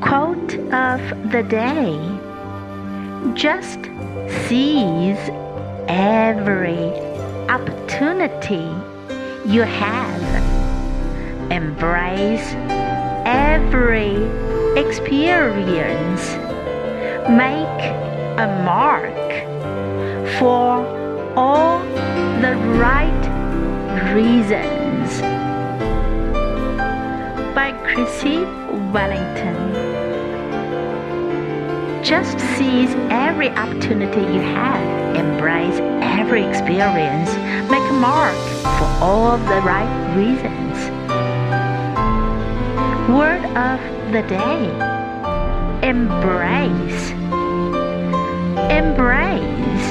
Quote of the day: just seize every opportunity you have. Embrace every experience. Make a mark for all the right reasons. By Chrissie Wellington. Just seize every opportunity you have. Embrace every experience. Make a mark for all the right reasons. Word of the day: embrace. Embrace.